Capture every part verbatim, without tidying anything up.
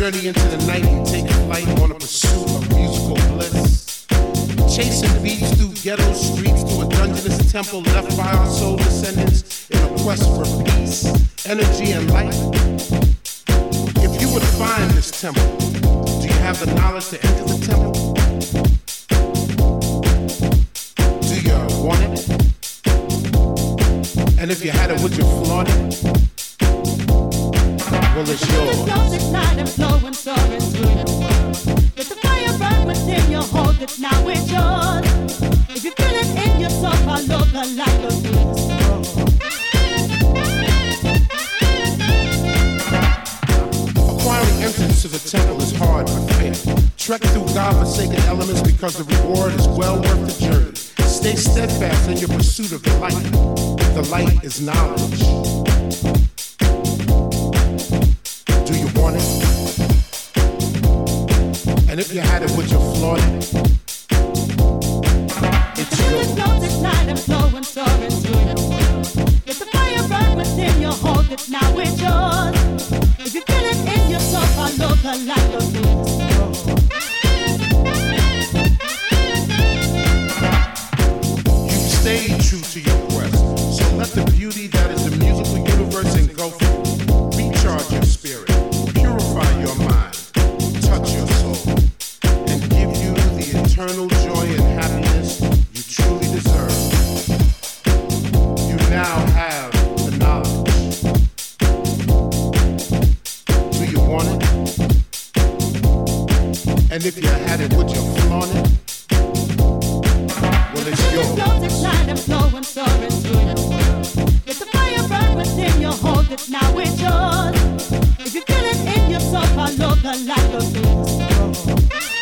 journey into the night and take flight on a pursuit of musical bliss. Chasing beats through ghetto streets to a dungeonous temple left by our soul descendants in a quest for peace, energy, and light. If you would find this temple, do you have the knowledge to enter the temple? Do you want it? And if you had it, would you flaunt it? Well, it's yours. The gold ignite and flow and soar into the world. Let the fire burn within you, hold it, now it's yours. If you feel it in your soul, follow the light of the soul. Acquiring entrance to the temple is hard but fair. Trek through God-forsaken elements because the reward is well worth the journey. Stay steadfast in your pursuit of the light. The light is knowledge. Do you want it? And if you had it, would you flaunt it? It's yours. The gold ignite and flow and soar into the world. Let the fire burn within you, hold it, now it's yours. If you feel it in your soul, follow the light of the soul. You stay true to your quest, so let the beauty that is the musical universe engulf you. Recharge your spirit, purify your mind, touch your soul, and give you the eternal joy and happiness you truly deserve. You now have the knowledge. Do you want it? And if you had it, would you flaunt it? Well, it's yours. Gold ignite and flow and soar into the world. Let the fire burn within you, hold it, now it's yours. If you feel it in your soul, follow the light of the soul.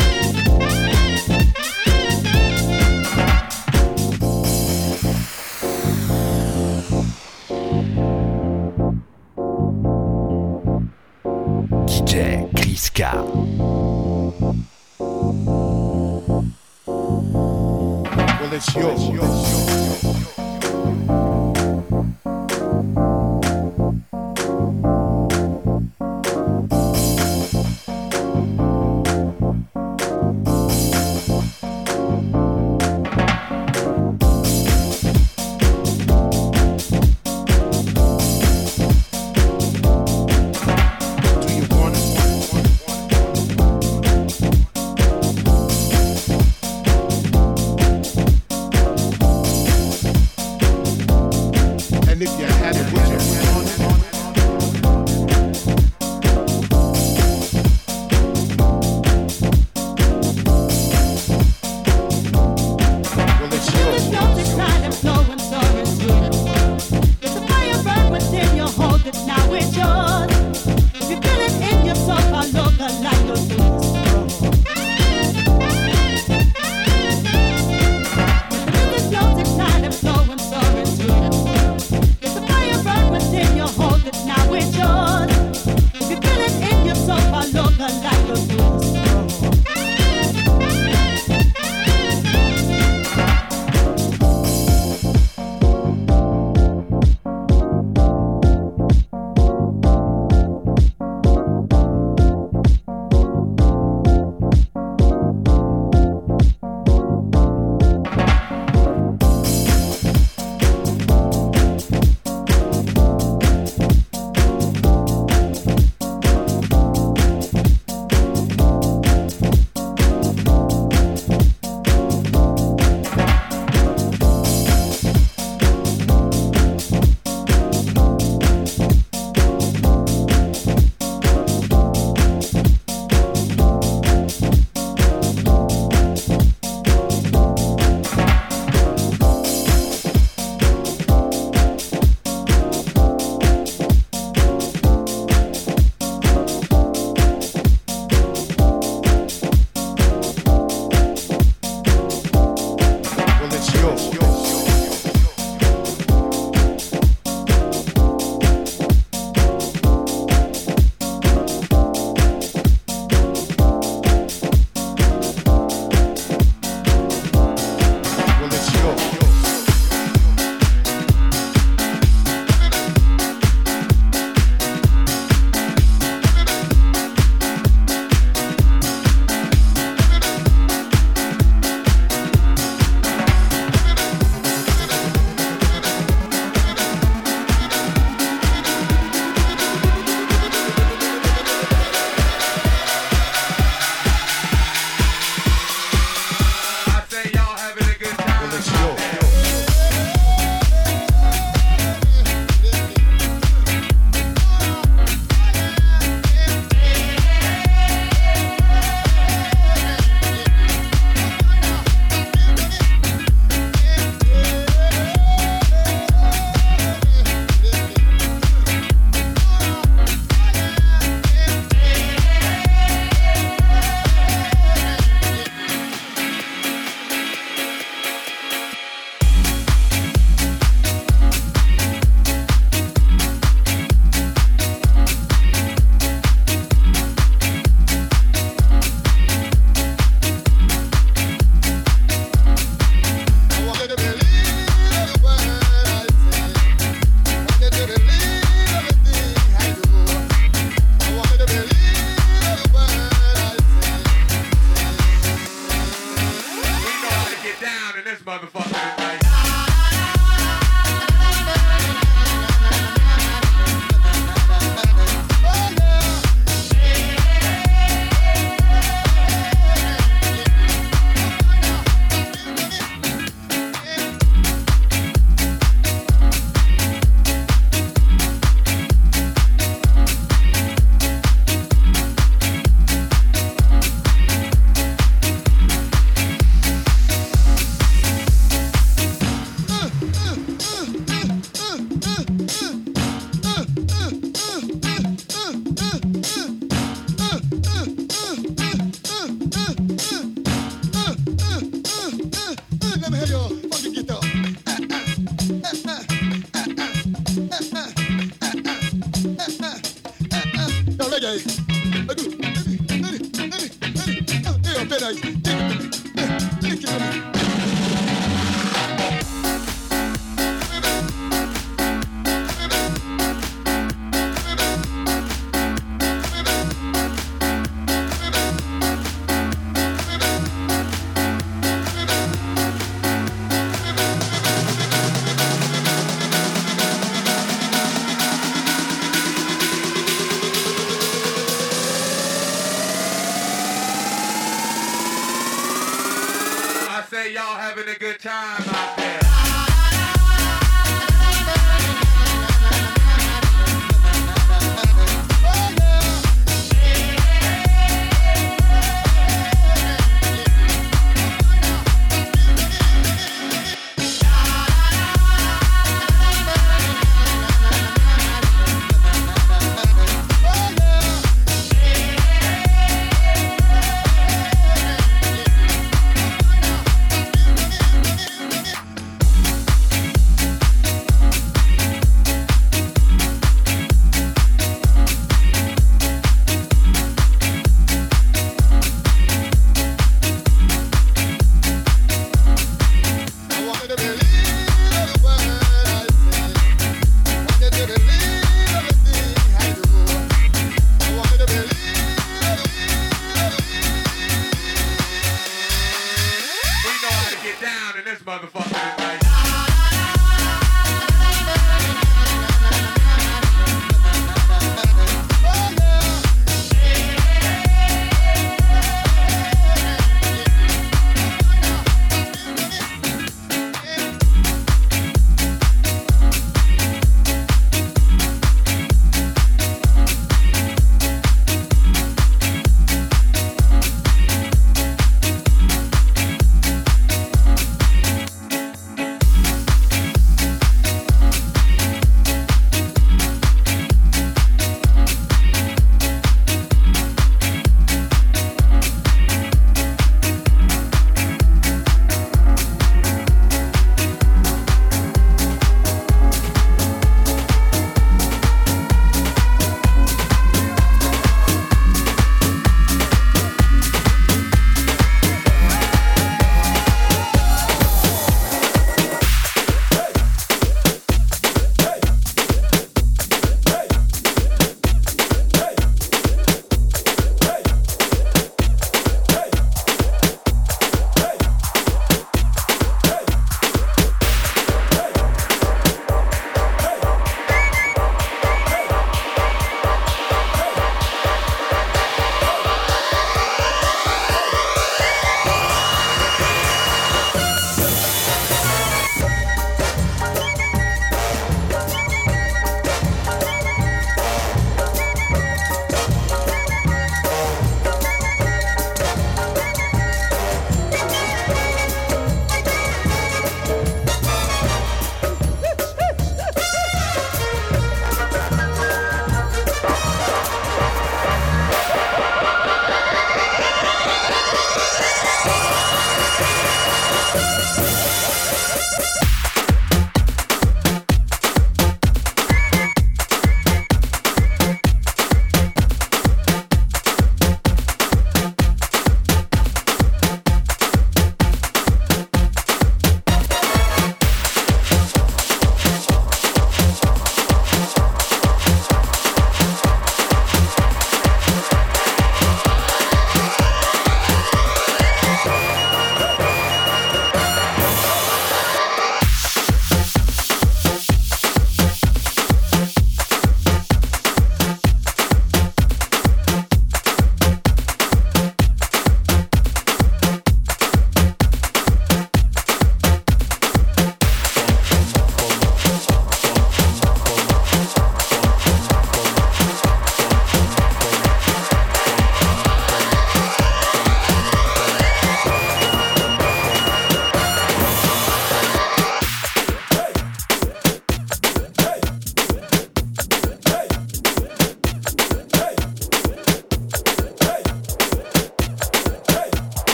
D J Chris K. Well, it's yours. It's yours. And if you had it, would you flaunt it? Well, it's yours. The gold ignite and flow and soar into the world. Let the fire burn within you, hold it, now it's yours. If you feel it in your soul, follow the light of the soul. The gold ignite and flow and soar into the world. Let the good time out there.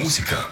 música.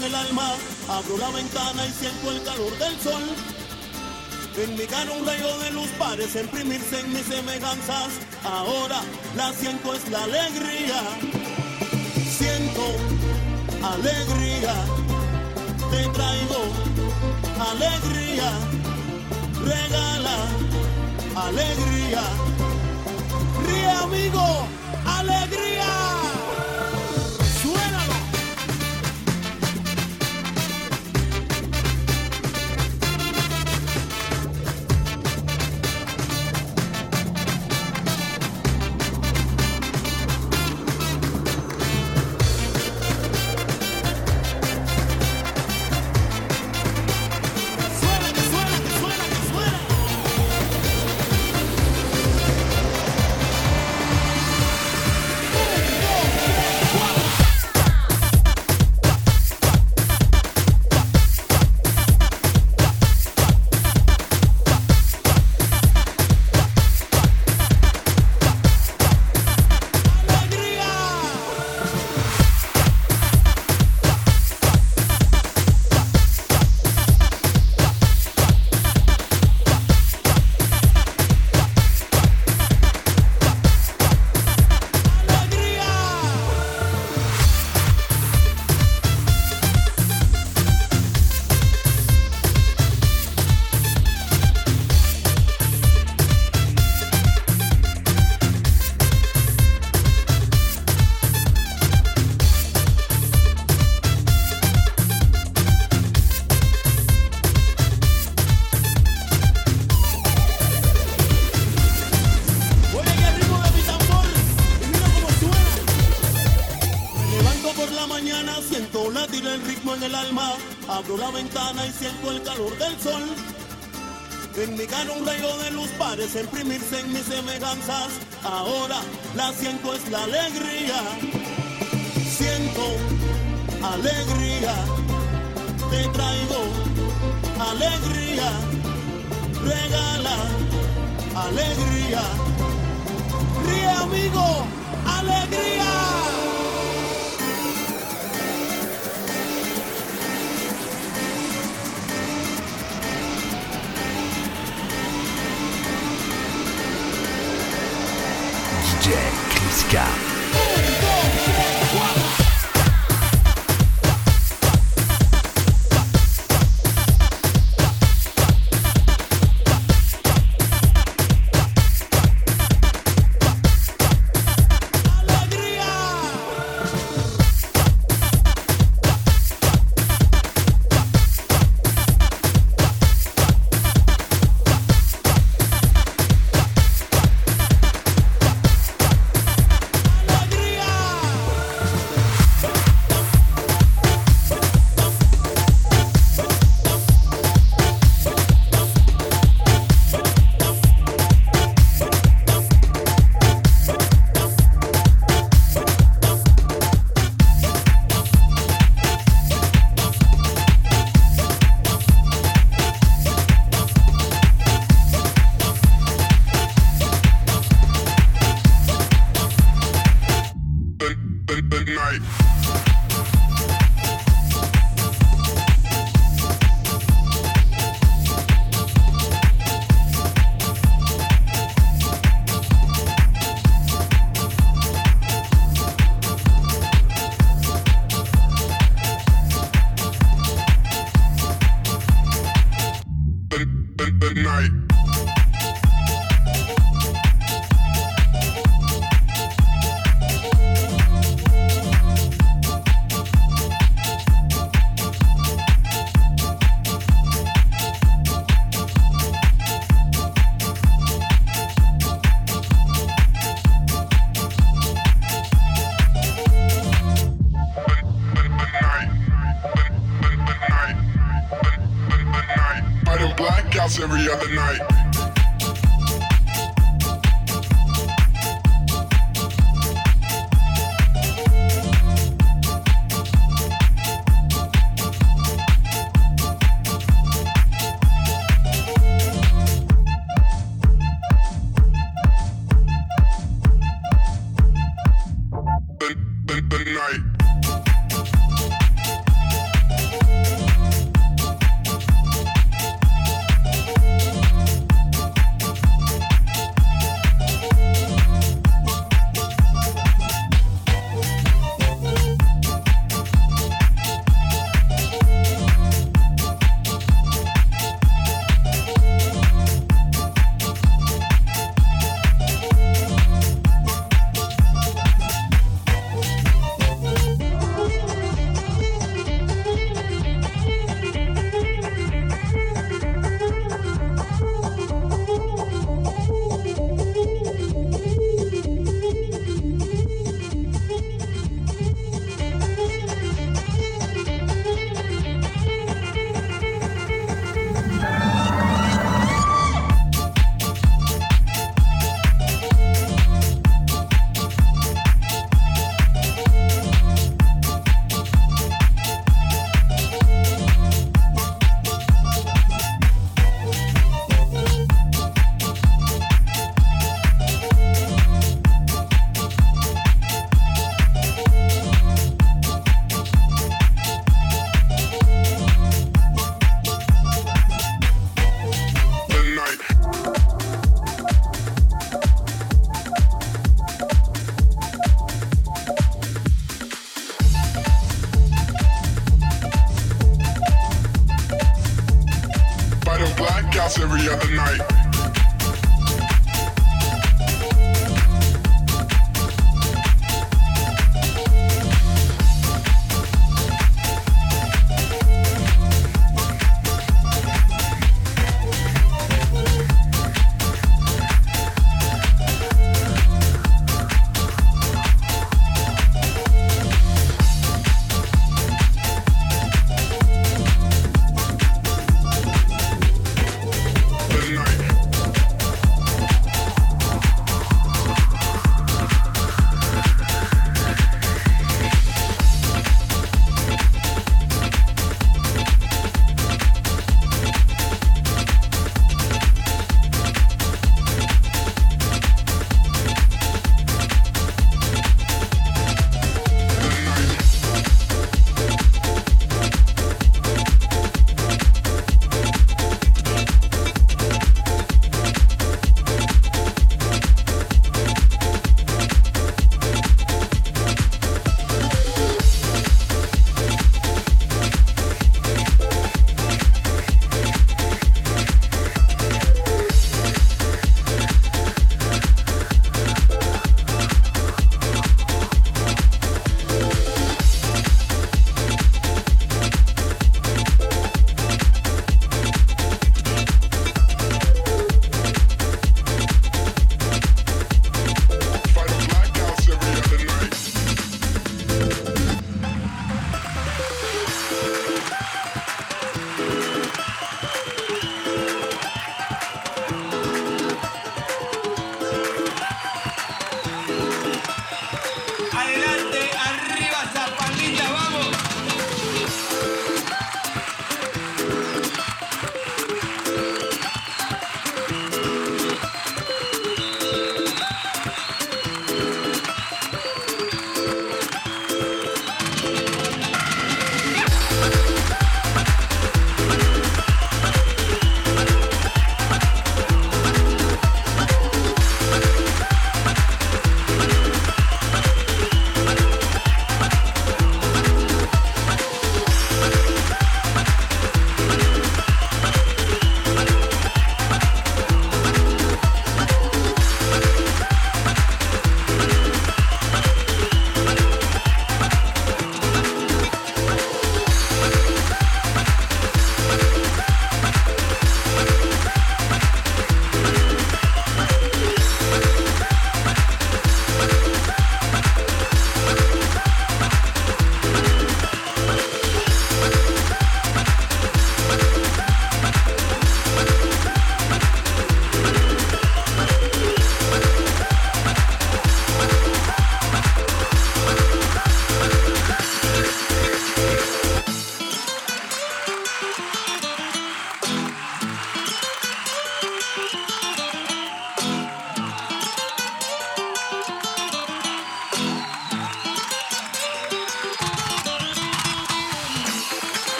en el alma, abro la ventana y siento el calor del sol. En mi cara un rayo de luz parece imprimirse en mis semejanzas. Ahora la siento es la alegría. Siento alegría, te traigo alegría. Regala alegría. Ríe, amigo, alegría. Suénalo. Abro la ventana y siento el calor del sol. En mi cara un rayo de luz parece imprimirse en mis semejanzas. Ahora la siento es la alegría. Siento alegría, te traigo alegría. Regala alegría. Ríe, amigo, alegría. D J Chris K.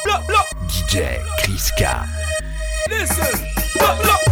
look, look. D J Chris-K. Listen, look, look.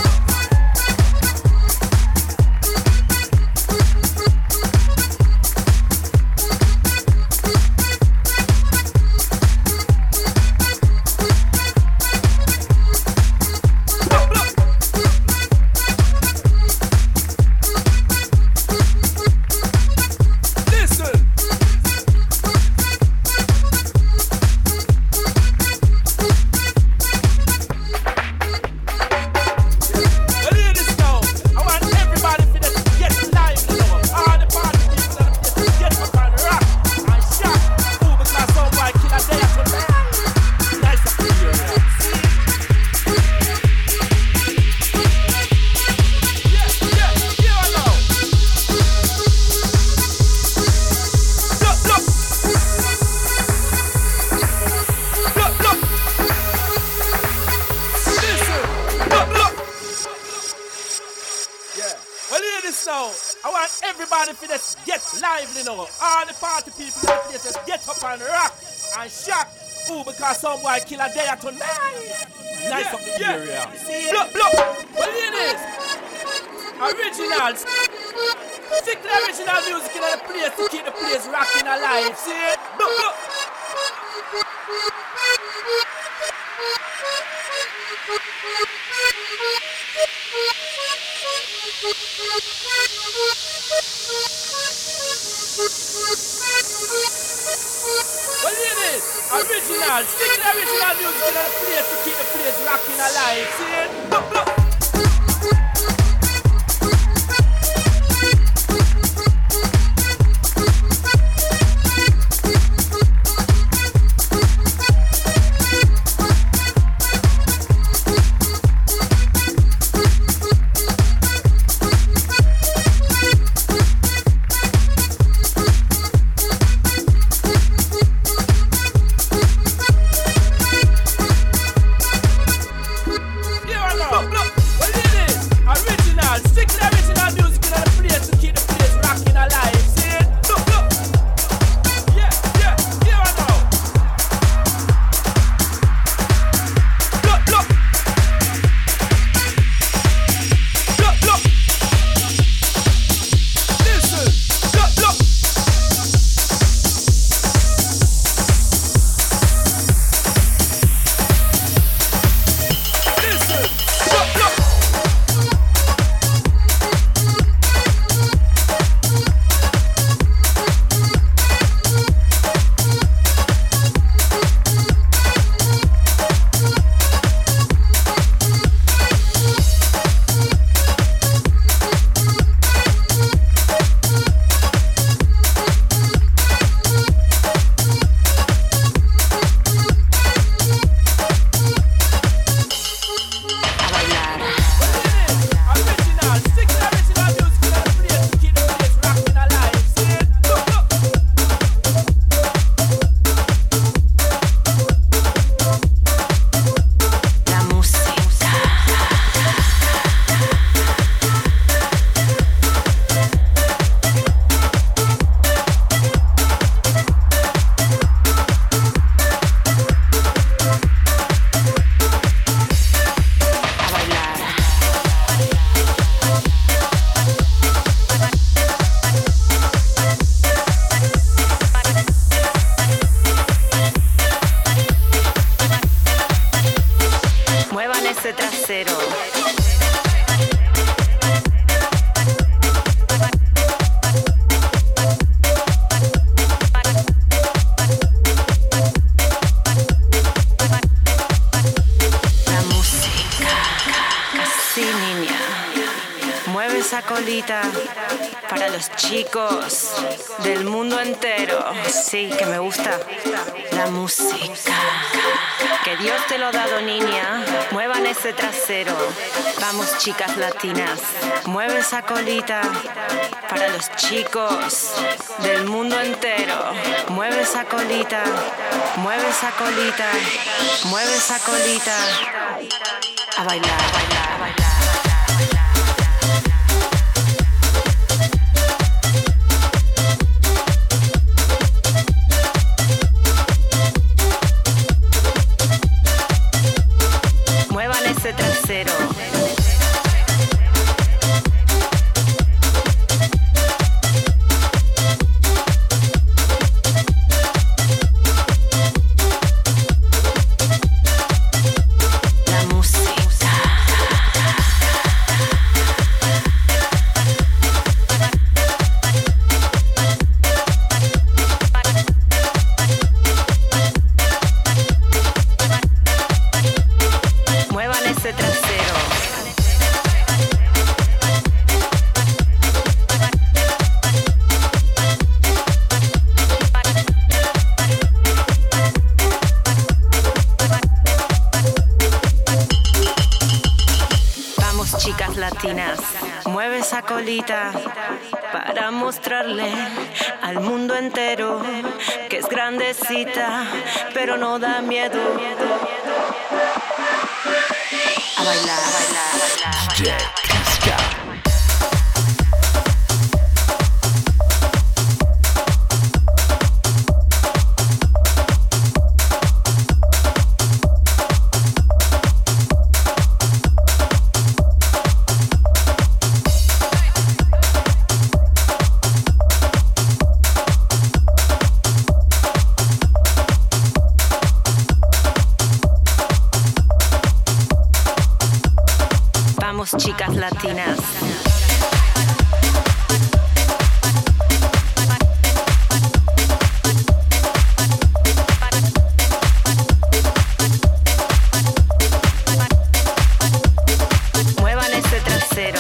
Some boy kill a day tonight. Nice yeah, of the yeah. area. See look, look. What it is? Originals. Stick the original music in the place to keep the place rocking alive. See it? Look, look. What it is? Original. Stick the original music in the place to keep the place rocking alive. See it? Look, look. Para los chicos del mundo entero. Sí, que me gusta la música. Que Dios te lo ha dado, niña. Muevan ese trasero. Vamos, chicas latinas. Mueve esa colita. Para los chicos del mundo entero. Mueve esa colita. Mueve esa colita. Mueve esa colita. A bailar, a bailar, a bailar. latinas. Mueve esa colita para mostrarle al mundo entero que es grandecita, pero no da miedo. A bailar, a bailar, a bailar. D J Criska. Chicas latinas. Muevan ese trasero.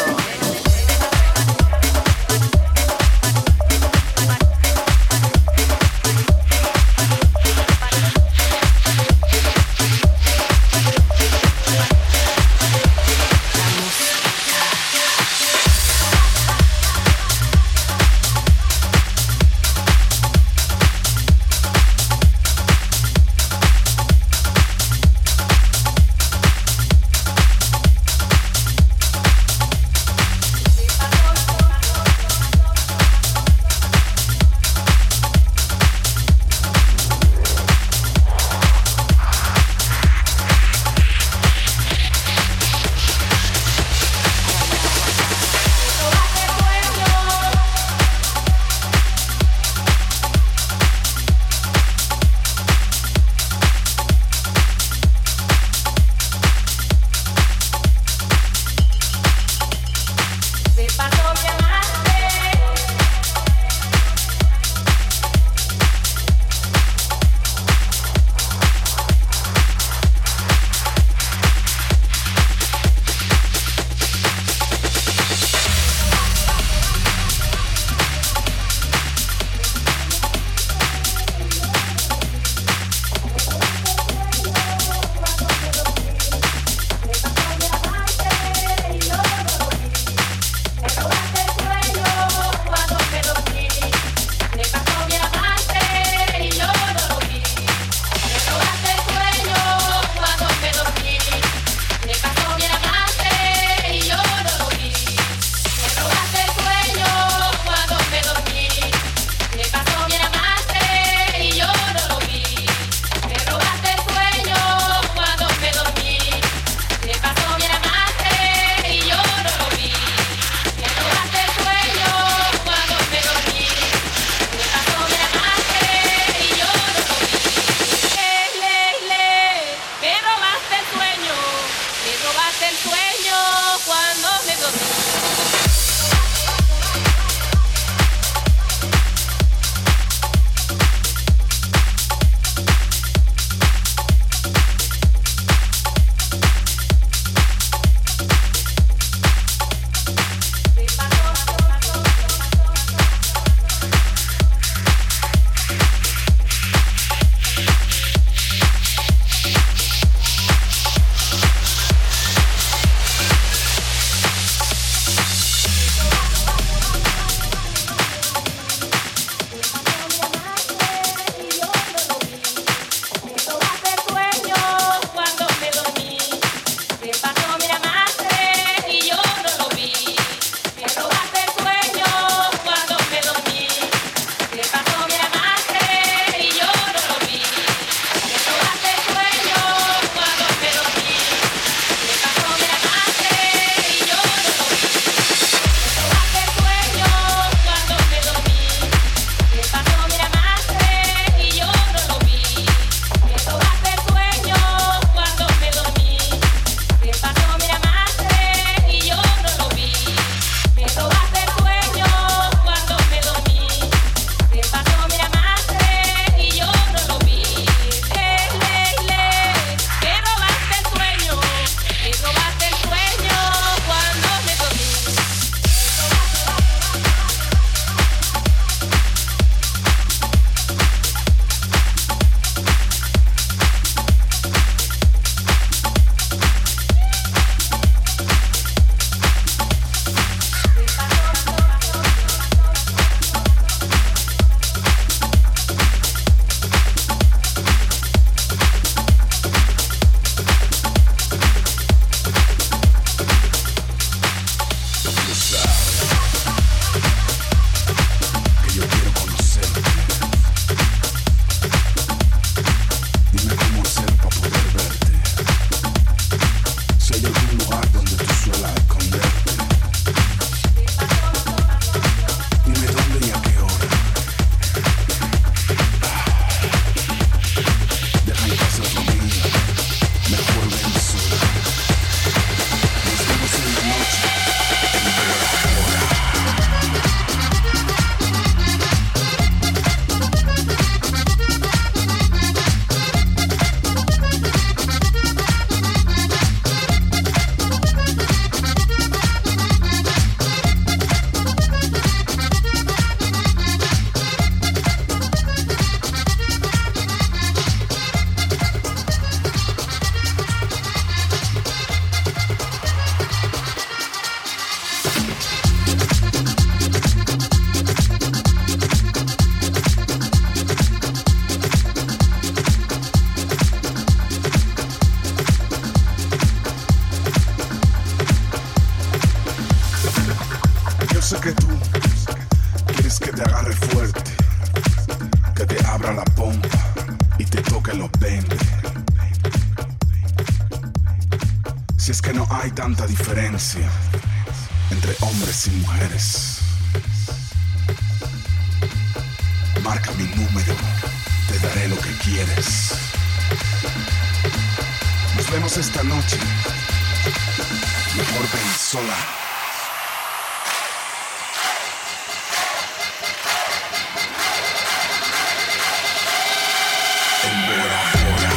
Si es que no hay tanta diferencia entre hombres y mujeres. Marca mi número, te daré lo que quieres. Nos vemos esta noche. Mejor ven sola. En Bora Bora.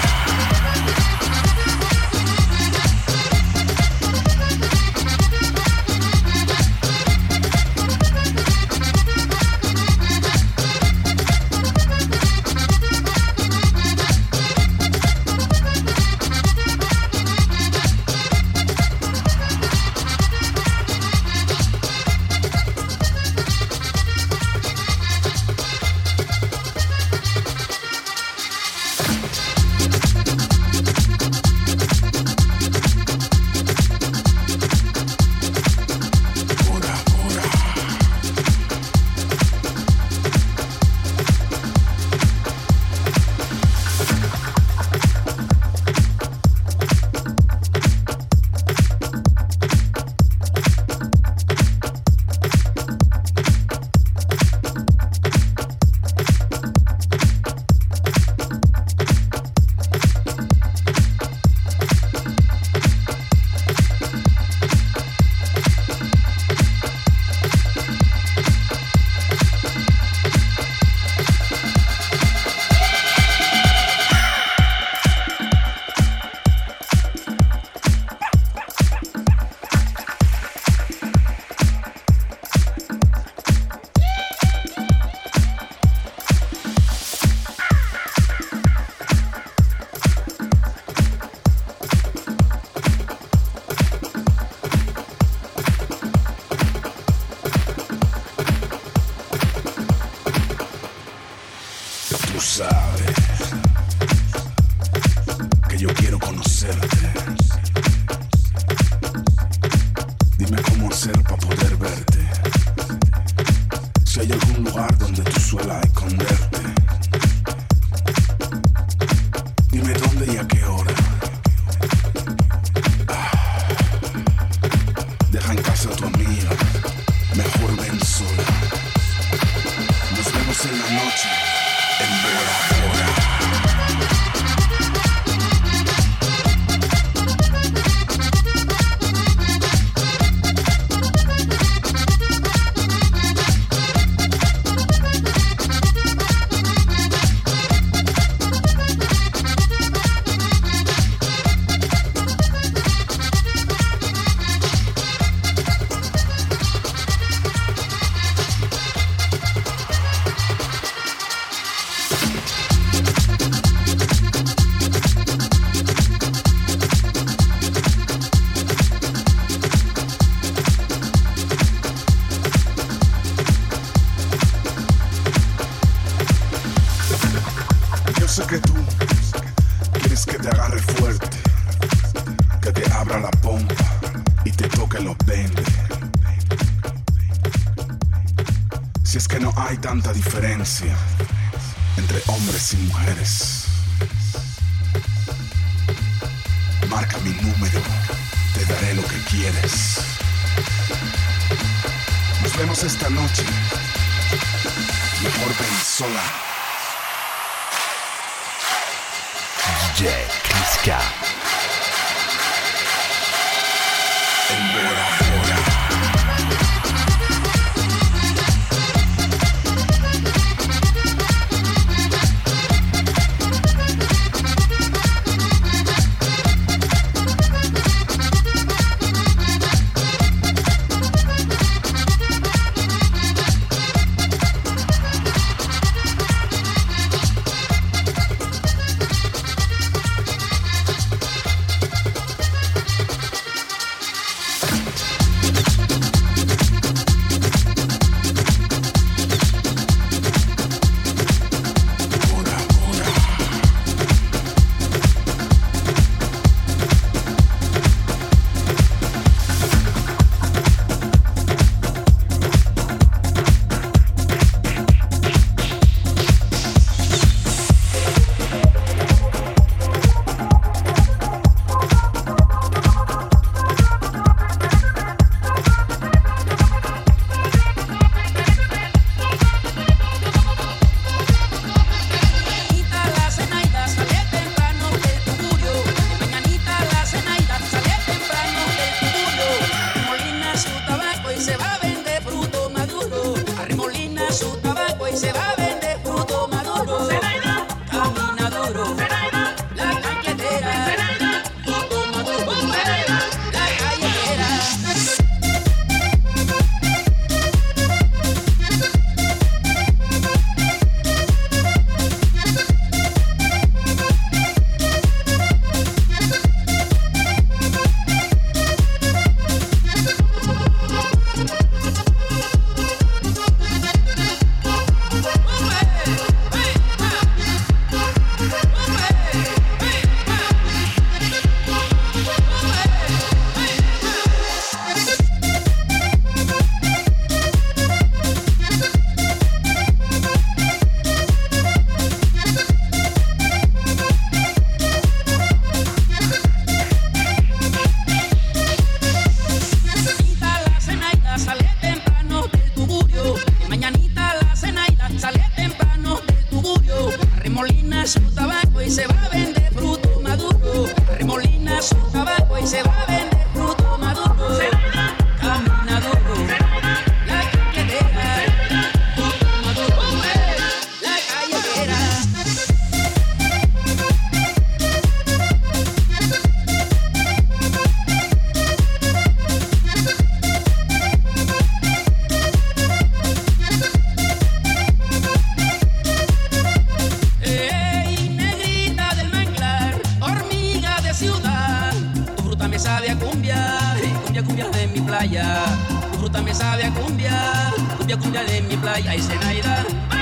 Tú sabes que yo quiero conocerte. Dime cómo hacer para poder verte. Si hay algún lugar donde tú suelas esconderte. Dime dónde y a qué hora. Ah, deja en casa a tu amiga. Mejor ven sola. Nos vemos en la noche. En Bora Bora. Yo sé que tú quieres que te agarre fuerte, que te abra la pompa y te toque los veinte. Si es que no hay tanta diferencia entre hombres y mujeres. Marca mi número, te daré lo que quieres. Nos vemos esta noche. Mejor ven sola. D J Kliska. En Bora Bora. sabe a cumbia, cumbia, cumbia de mi playa. Tu fruta me sabe a cumbia, cumbia, cumbia de mi playa. Y Zenaida.